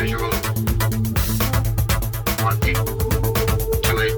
visual. Wanting to it.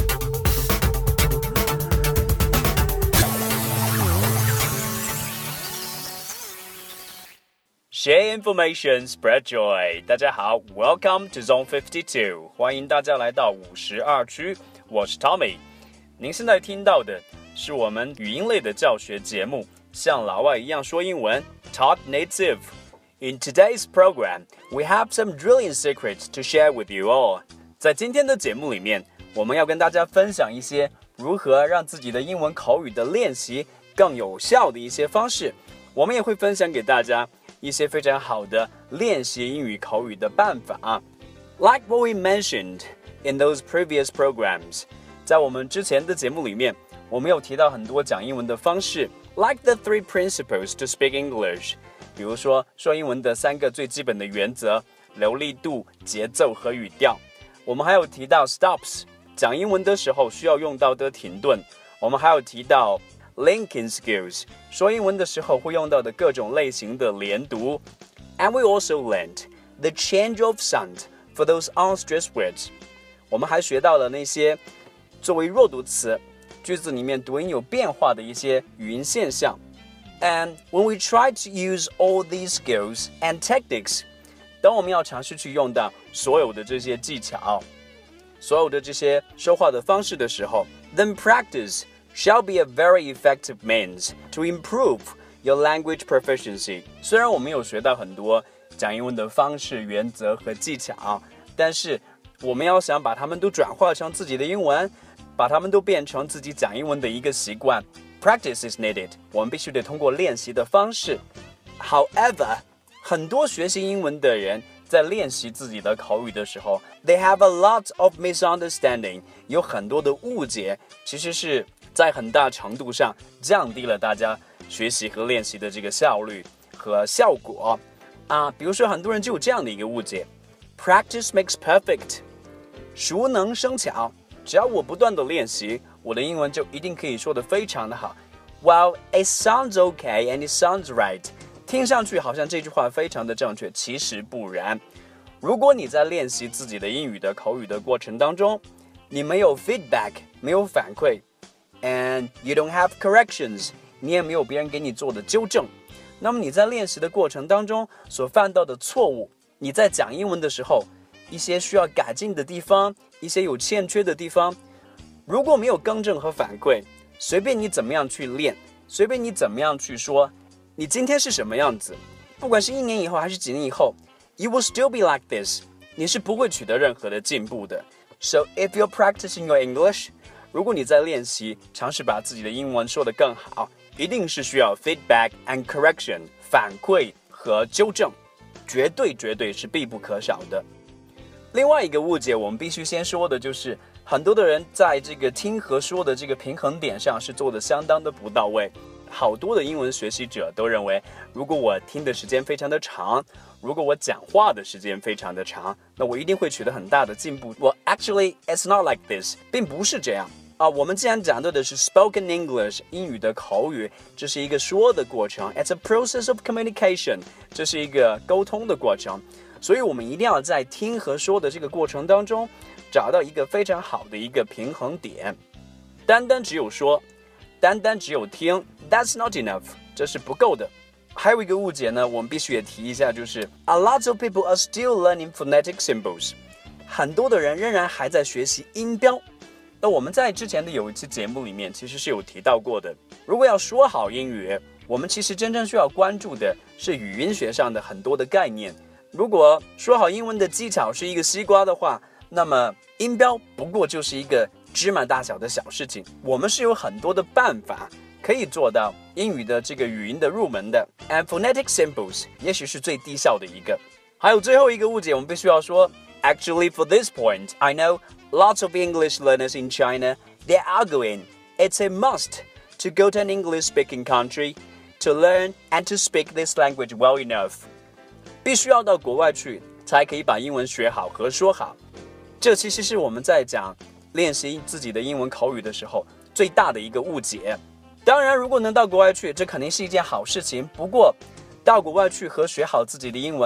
Share information, spread joy. 大家好 ，Welcome to Zone 52，欢迎大家来到52区，我是 Tommy。您现在听到的是我们语音类的教学节目，像老外一样说英文 ，Talk Native。In today's program, we have some drilling secrets to share with you all. 在今天的节目里面，我们要跟大家分享一些如何让自己的英文口语的练习更有效的一些方式。我们也会分享给大家一些非常好的练习英语口语的办法。Like what we mentioned in those previous programs, 在我们之前的节目里面，我们有提到很多讲英文的方式 ，like the 3 principles to speak English。比如说英文的3个最基本的原则：流利度、节奏和语调。我们还有提到 stops， 讲英文的时候需要用到的停顿。我们还有提到linking skills， 说英文的时候会用到的各种类型的连读。And we also learned the change of sound for those unstressed words。我们还学到了那些作为弱读词，句子里面读音有变化的一些语音现象。And when we try to use all these skills and techniques， 当我们要尝试去用到所有的这些技巧，所有的这些说话的方式的时候 then practice shall be a very effective means to improve your language proficiency。 虽然我们有学到很多讲英文的方式、原则和技巧，但是我们要想把它们都转化成自己的英文，把它们都变成自己讲英文的一个习惯。Practice is needed， 我们必须得通过练习的方式。However， 很多学习英文的人在练习自己的口语的时候 ，they have a lot of misunderstanding， 有很多的误解，其实是在很大程度上降低了大家学习和练习的这个效率和效果。比如说很多人就有这样的一个误解 ，Practice makes perfect， 熟能生巧，只要我不断的练习，我的英文就一定可以说得非常的好。Well, it sounds okay and it sounds right， 听上去好像这句话非常的正确，其实不然。如果你在练习自己的英语的口语的过程当中，你没有 feedback， 没有反馈 ，and you don't have corrections， 你也没有别人给你做的纠正，那么你在练习的过程当中所犯到的错误，你在讲英文的时候，一些需要改进的地方，一些有欠缺的地方，如果没有更正和反馈，随便你怎么样去练，随便你怎么样去说，你今天是什么样子，不管是1年以后还是几年以后 ，you will still be like this， 你是不会取得任何的进步的。So if you're practicing your English， 如果你在练习，尝试把自己的英文说得更好，一定是需要 feedback and correction， 反馈和纠正，绝对是必不可少的。另外一个误解，我们必须先说的就是，很多的人在这个听和说的这个平衡点上是做得相当的不到位。好多的英文学习者都认为，如果我听的时间非常的长，如果我讲话的时间非常的长，那我一定会取得很大的进步。Well, actually, it's not like this， 并不是这样。我们既然讲到的是 spoken English， 英语的口语，这是一个说的过程 ，it's a process of communication， 这是一个沟通的过程。所以我们一定要在听和说的这个过程当中，找到一个非常好的一个平衡点。单单只有说，单单只有听 ，that's not enough， 这是不够的。还有一个误解呢，我们必须也提一下，就是 a lot of people are still learning phonetic symbols， 很多的人仍然还在学习音标。那我们在之前的有一期节目里面其实是有提到过的，如果要说好英语，我们其实真正需要关注的是语音学上的很多的概念。如果说好英文的技巧是一个西瓜的话，那么音标不过就是一个芝麻大小的小事情。我们是有很多的办法可以做到英语的这个语音的入门的 ，and phonetic symbols 也许是最低效的一个。还有最后一个误解，我们必须要说 ，Actually for this point, I know lots of English learners in China, they're arguing it's a must to go to an English-speaking country to learn and to speak this language well enough。必须要到国外去才可以把英文学好和说好。这其实是我们在讲练习自己的英文口语的时候最大的一个误解。当然，如果能到国外去，这肯定是一件好事情。不过，到国外去和学好自己的英文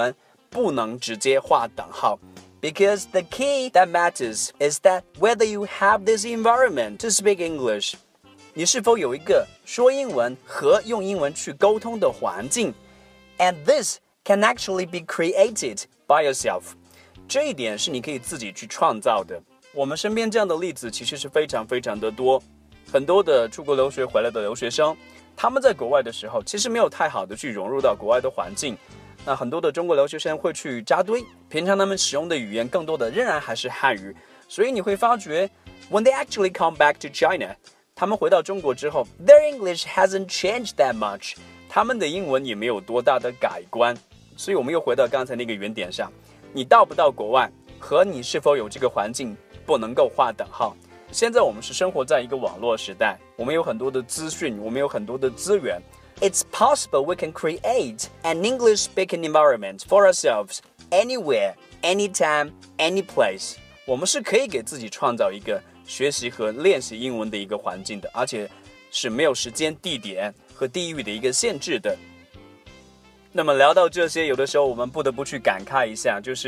不能直接画等号。Because the key that matters is that whether you have this environment to speak English, 你是否有一个说英文和用英文去沟通的环境 and this can actually be created by yourself. 这一点是你可以自己去创造的。我们身边这样的例子其实是非常非常的多，很多的出国留学回来的留学生，他们在国外的时候其实没有太好的去融入到国外的环境。那很多的中国留学生会去扎堆，平常他们使用的语言更多的仍然还是汉语，所以你会发觉 when they actually come back to China, 他们回到中国之后 their English hasn't changed that much, 他们的英文也没有多大的改观。所以我们又回到刚才那个原点上，你到不到国外和你是否有这个环境不能够划等号。现在我们是生活在一个网络时代，我们有很多的资讯，我们有很多的资源。It's possible we can create an English-speaking environment for ourselves anywhere, anytime, any place. 我们是可以给自己创造一个学习和练习英文的一个环境的，而且是没有时间、地点和地域的一个限制的。那么聊到这些，有的时候我们不得不去感慨一下，就是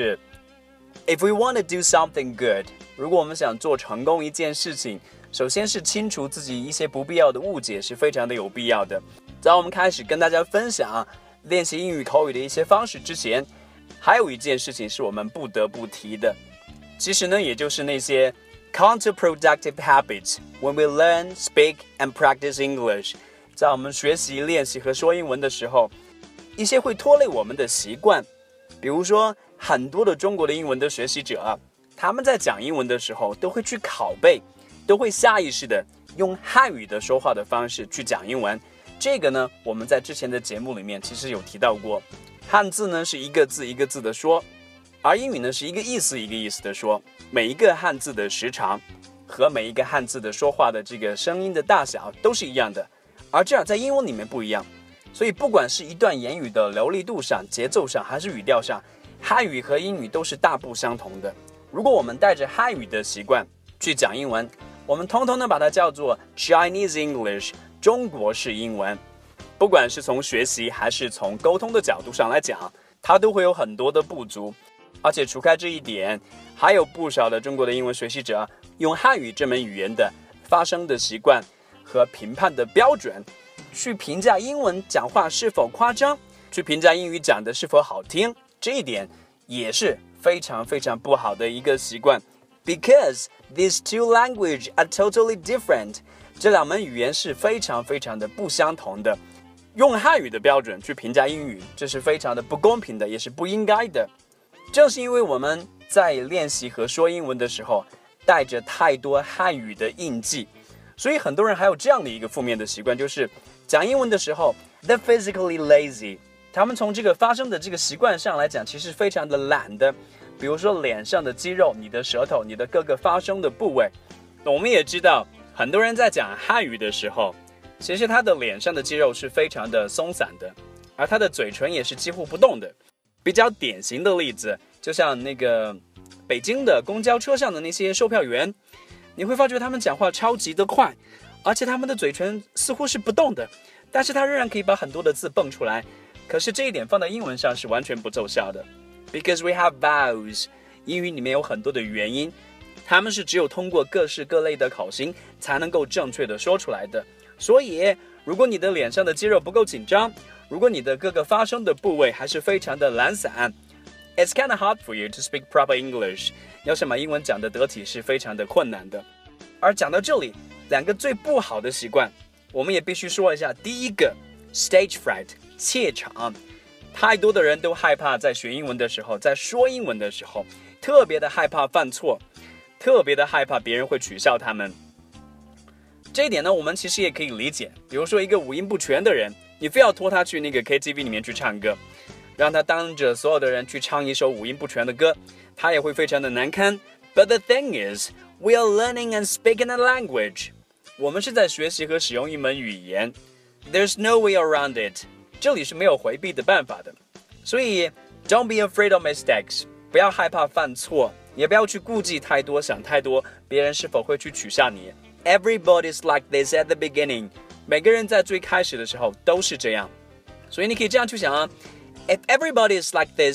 If we want to do something good, 如果我们想做成功一件事情，首先是清除自己一些不必要的误解是非常的有必要的。在我们开始跟大家分享练习英语口语的一些方式之前，还有一件事情是我们不得不提的，其实呢，也就是那些 counterproductive habits when we learn, speak and practice English. 在我们学习、练习和说英文的时候，一些会拖累我们的习惯，比如说很多的中国的英文的学习者，他们在讲英文的时候都会去拷贝，都会下意识的用汉语的说话的方式去讲英文。这个呢，我们在之前的节目里面其实有提到过，汉字呢是一个字一个字的说，而英语呢是一个意思一个意思的说，每一个汉字的时长和每一个汉字的说话的这个声音的大小都是一样的，而这样在英文里面不一样。所以不管是一段言语的流利度上、节奏上还是语调上，汉语和英语都是大不相同的。如果我们带着汉语的习惯去讲英文，我们通通的把它叫做 Chinese English， 中国式英文。不管是从学习还是从沟通的角度上来讲，它都会有很多的不足。而且除开这一点，还有不少的中国的英文学习者用汉语这门语言的发声的习惯和评判的标准去评价英文讲话是否夸张，去评价英语讲的是否好听，这一点也是非常非常不好的一个习惯。Because these two languages are totally different. 这两门语言是非常非常的不相同的。用汉语的标准去评价英语，这是非常的不公平的，也是不应该的。正是因为我们在练习和说英文的时候带着太多汉语的印记，所以很多人还有这样的一个负面的习惯，就是讲英文的时候 they're physically lazy. 他们从这个发声的这个习惯上来讲，其实非常的懒的。比如说脸上的肌肉、你的舌头、你的各个发声的部位。我们也知道，很多人在讲汉语的时候，其实他的脸上的肌肉是非常的松散的，而他的嘴唇也是几乎不动的。比较典型的例子，就像那个北京的公交车上的那些售票员，你会发觉他们讲话超级的快，而且他们的嘴唇似乎是不动的，但是他仍然可以把很多的字蹦出来。可是这一点放在英文上是完全不奏效的。Because we have vowels， 英语里面有很多的元音，他们是只有通过各式各类的口型才能够正确的说出来的。所以如果你的脸上的肌肉不够紧张，如果你的各个发声的部位还是非常的懒散， It's kind of hard for you to speak proper English。 要想把英文讲得得体是非常的困难的。而讲到这里，两个最不好的习惯我们也必须说一下。第一个 stage fright， 怯场。太多的人都害怕在学英文的时候，在说英文的时候，特别的害怕犯错，特别的害怕别人会取笑他们。这一点呢，我们其实也可以理解。比如说一个五音不全的人，你非要拖他去那个 KTV 里面去唱歌，让他当着所有的人去唱一首五音不全的歌，他也会非常的难堪。But the thing is, we are learning and speaking a language. 我们是在学习和使用一门语言。There's no way around it. 这里是没有回避的办法的。所以 don't be afraid of mistakes， 不要害怕犯错，也不要去顾忌太多，想太多，别人是否会去取笑你。Everybody's like this at the beginning， 每个人在最开始的时候都是这样。所以你可以这样去想啊， If everybody is like this,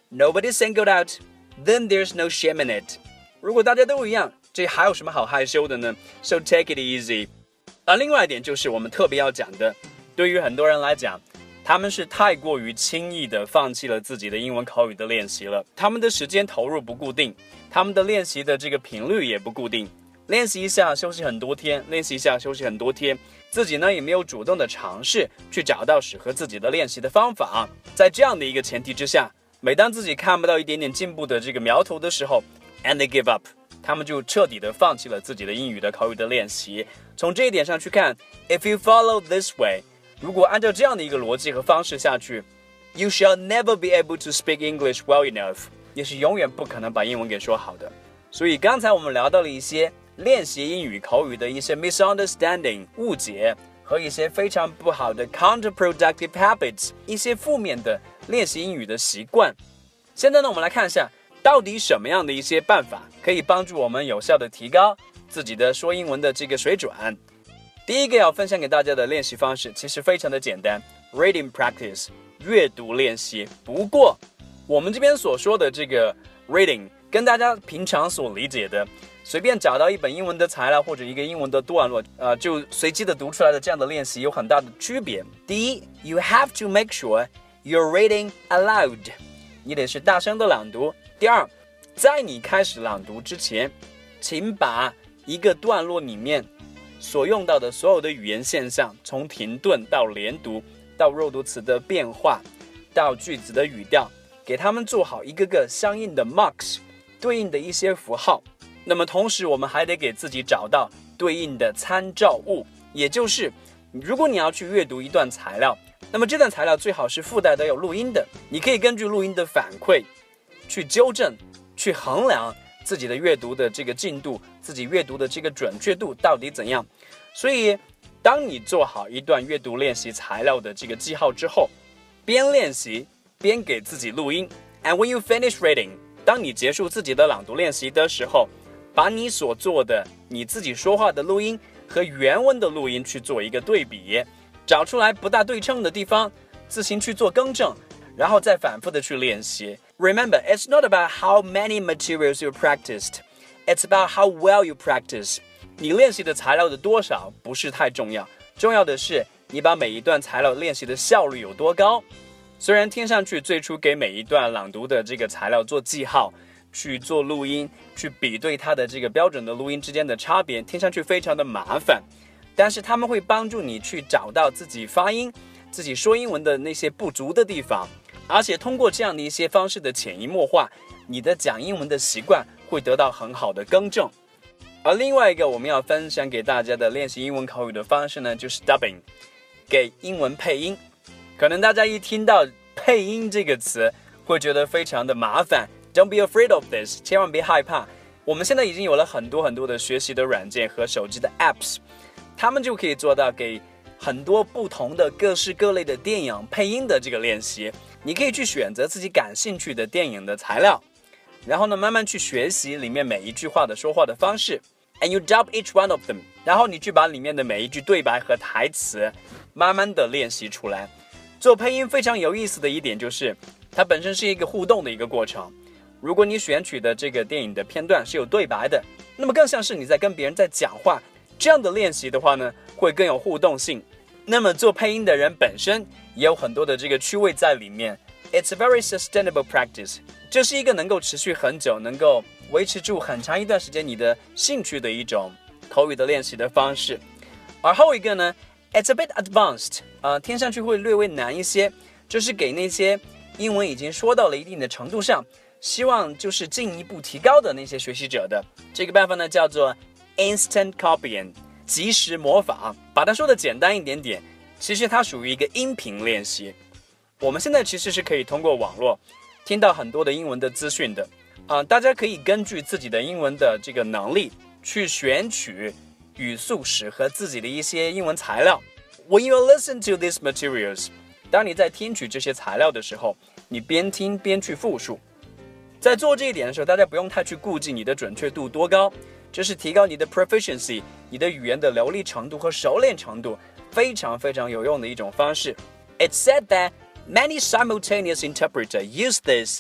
Nobody singled out, then there's no shame in it. 如果大家都一样，这还有什么好害羞的呢？ So take it easy. 而另外一点就是我们特别要讲的，对于很多人来讲，他们是太过于轻易的放弃了自己的英文口语的练习了。他们的时间投入不固定，他们的练习的这个频率也不固定。练习一下休息很多天，练习一下休息很多天，自己呢也没有主动的尝试去找到适合自己的练习的方法。在这样的一个前提之下，每当自己看不到一点点进步的这个苗头的时候 ，and they give up， 他们就彻底的放弃了自己的英语的口语的练习。从这一点上去看 ，if you follow this way， 如果按照这样的一个逻辑和方式下去 ，you shall never be able to speak English well enough， 也是永远不可能把英文给说好的。所以刚才我们聊到了一些练习英语口语的一些 misunderstanding 误解和一些非常不好的 counterproductive habits 一些负面的练习英语的习惯。现在呢，我们来看一下到底什么样的一些办法可以帮助我们有效的提高自己的说英文的这个水准。第一个要分享给大家的练习方式其实非常的简单 ，reading practice 阅读练习。不过我们这边所说的这个 reading 跟大家平常所理解的随便找到一本英文的材料或者一个英文的段落，就随机的读出来的这样的练习有很大的区别。第一 ，you have to make sure you're reading aloud， 你得是大声的朗读。第二，在你开始朗读之前，请把一个段落里面所用到的所有的语言现象，从停顿到连读，到弱读词的变化，到句子的语调，给他们做好一个个相应的 marks， 对应的一些符号。那么同时我们还得给自己找到对应的参照物，也就是如果你要去阅读一段材料，那么这段材料最好是附带的有录音的，你可以根据录音的反馈去纠正，去衡量自己的阅读的这个进度，自己阅读的这个准确度到底怎样。所以当你做好一段阅读练习材料的这个记号之后，边练习边给自己录音。 And when you finish reading， 当你结束自己的朗读练习的时候，把你所做的你自己说话的录音和原文的录音去做一个对比，找出来不大对称的地方，自行去做更正，然后再反复的去练习。Remember, it's not about how many materials you practiced, it's about how well you practice. 你练习的材料的多少不是太重要，重要的是你把每一段材料练习的效率有多高。虽然听上去最初给每一段朗读的这个材料做记号，去做录音，去比对它的这个标准的录音之间的差别，听上去非常的麻烦，但是他们会帮助你去找到自己发音、自己说英文的那些不足的地方，而且通过这样的一些方式的潜移默化，你的讲英文的习惯会得到很好的更正。而另外一个我们要分享给大家的练习英文口语的方式呢，就是 dubbing， 给英文配音。可能大家一听到配音这个词会觉得非常的麻烦， Don't be afraid of this， 千万别害怕。我们现在已经有了很多的学习的软件和手机的 apps， 他们就可以做到给很多不同的各式各类的电影配音的这个练习。你可以去选择自己感兴趣的电影的材料，然后呢慢慢去学习里面每一句话的说话的方式， and you dub each one of them， 然后你去把里面的每一句对白和台词慢慢的练习出来。做配音非常有意思的一点就是它本身是一个互动的一个过程。如果你选取的这个电影的片段是有对白的，那么更像是你在跟别人在讲话，这样的练习的话呢会更有互动性。那么做配音的人本身也有很多的这个趣味在里面。 It's a very sustainable practice， 这是一个能够持续很久，能够维持住很长一段时间你的兴趣的一种口语的练习的方式。而后一个呢 It's a bit advanced， 听上去会略微难一些，就是给那些英文已经说到了一定的程度上，希望就是进一步提高的那些学习者的。这个办法呢叫做 instant copying， 即时模仿。把它说的简单一点点，其实它属于一个音频练习。我们现在其实是可以通过网络听到很多的英文的资讯的，大家可以根据自己的英文的这个能力去选取语速适合自己的一些英文材料。 When you listen to these materials， 当你在听取这些材料的时候，你边听边去复述。在做这一点的时候，大家不用太去顾忌你的准确度多高，这是提高你的 proficiency， 你的语言的流利程度和熟练程度非常非常有用的一种方式。 It's said that many simultaneous interpreters use this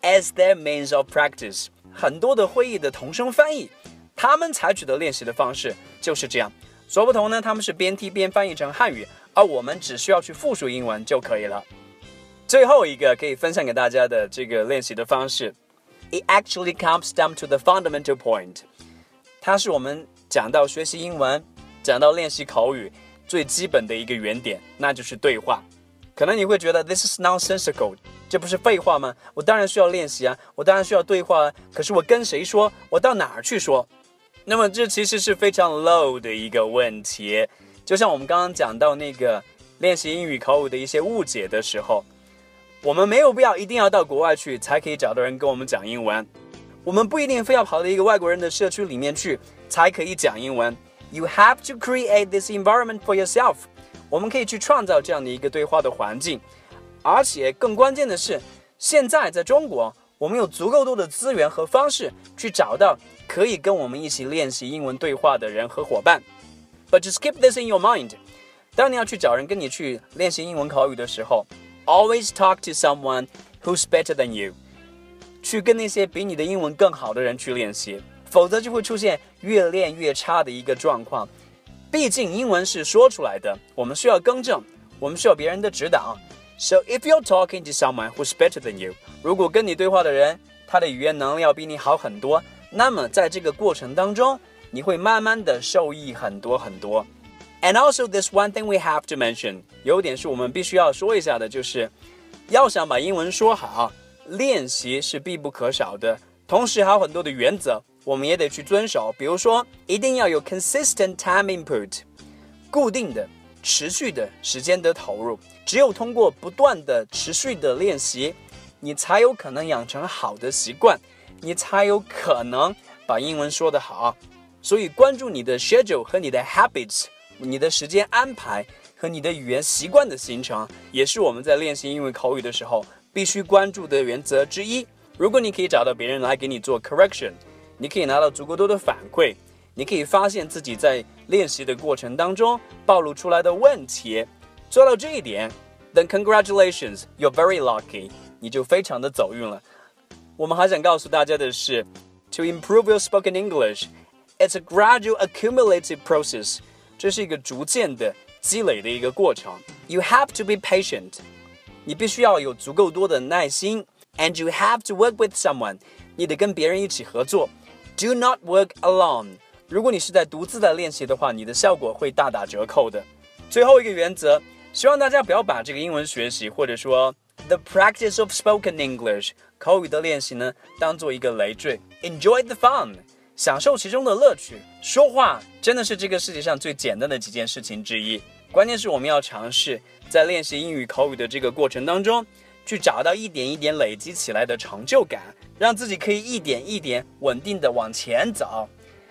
as their means of practice。很多的会议的同声翻译，他们采取的练习的方式就是这样。所不同呢，他们是边听边翻译成汉语，而我们只需要去复述英文就可以了。最后一个可以分享给大家的这个练习的方式 ，It actually comes down to the fundamental point。它是我们讲到学习英文、讲到练习口语最基本的一个原点，那就是对话。可能你会觉得 This is nonsensical， 这不是废话吗？我当然需要练习啊，我当然需要对话啊，可是我跟谁说？我到哪儿去说？那么这其实是非常 low 的一个问题。就像我们刚刚讲到那个练习英语口语的一些误解的时候，我们没有必要一定要到国外去才可以找到人跟我们讲英文，我们不一定非要跑到一个外国人的社区里面去才可以讲英文。You have to create this environment for yourself。我们可以去创造这样的一个对话的环境，而且更关键的是，现在在中国，我们有足够多的资源和方式去找到可以跟我们一起练习英文对话的人和伙伴。But just keep this in your mind。当你要去找人跟你去练习英文口语的时候， always talk to someone who's better than you。去跟那些比你的英文更好的人去练习，否则就会出现越练越差的一个状况。毕竟英文是说出来的，我们需要更正，我们需要别人的指导。So if you're talking to someone who's better than you， 如果跟你对话的人，他的语言能力要比你好很多，那么在这个过程当中，你会慢慢的受益很多很多。And also there's one thing we have to mention， 有点是我们必须要说一下的，就是要想把英文说好，练习是必不可少的，同时还有很多的原则我们也得去遵守。比如说一定要有 consistent time input， 固定的持续的时间的投入，只有通过不断的持续的练习，你才有可能养成好的习惯，你才有可能把英文说得好。所以关注你的 schedule 和你的 habits， 你的时间安排和你的语言习惯的形成，也是我们在练习英语口语的时候必须关注的原则之一。如果你可以找到别人来给你做 correction， 你可以拿到足够多的反馈，你可以发现自己在练习的过程当中暴露出来的问题，做到这一点 then congratulations, you're very lucky， 你就非常的走运了。我们还想告诉大家的是 to improve your spoken English， it's a gradual accumulative process， 这是一个逐渐的积累的一个过程。 You have to be patient， 你必须要有足够多的耐心， and you have to work with someone， 你得跟别人一起合作。 Do not work alone， 如果你是在独自的练习的话，你的效果会大打折扣的。最后一个原则，希望大家不要把这个英文学习或者说 the practice of spoken English 口语的练习呢当做一个累赘。 Enjoy the fun， 享受其中的乐趣。说话真的是这个世界上最简单的几件事情之一，关键是我们要尝试在练习英语口语的这个过程当中去找到一点一点累积起来的成就感，让自己可以一点一点稳定的往前走。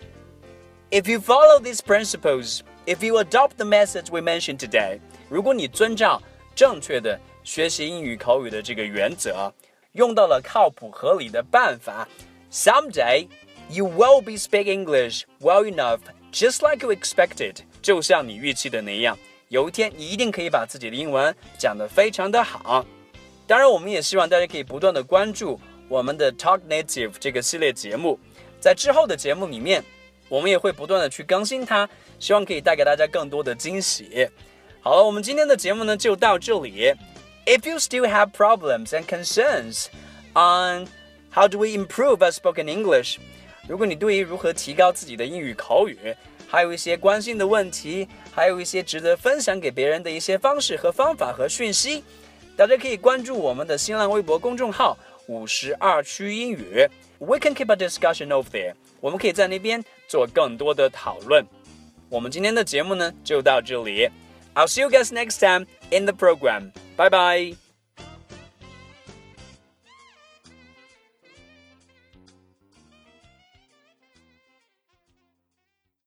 If you follow these principles, if you adopt the methods we mentioned today， 如果你遵照正确的学习英语口语的这个原则，用到了靠谱合理的办法， someday you will be speak English well enough, just like you expected， 就像你预期的那样，有一天你一定可以把自己的英文讲得非常的好。当然我们也希望大家可以不断的关注我们的 Talk Native 这个系列节目，在之后的节目里面我们也会不断的去更新它，希望可以带给大家更多的惊喜。好了，我们今天的节目呢就到这里。 If you still have problems and concerns on how do we improve our spoken English， 如果你对于如何提高自己的英语口语还有一些关心的问题，还有一些值得分享给别人的一些方式和方法和讯息，大家可以关注我们的新浪微博公众号52区英语， We can keep a discussion over there， 我们可以在那边做更多的讨论。我们今天的节目呢就到这里， I'll see you guys next time in the program. Bye bye.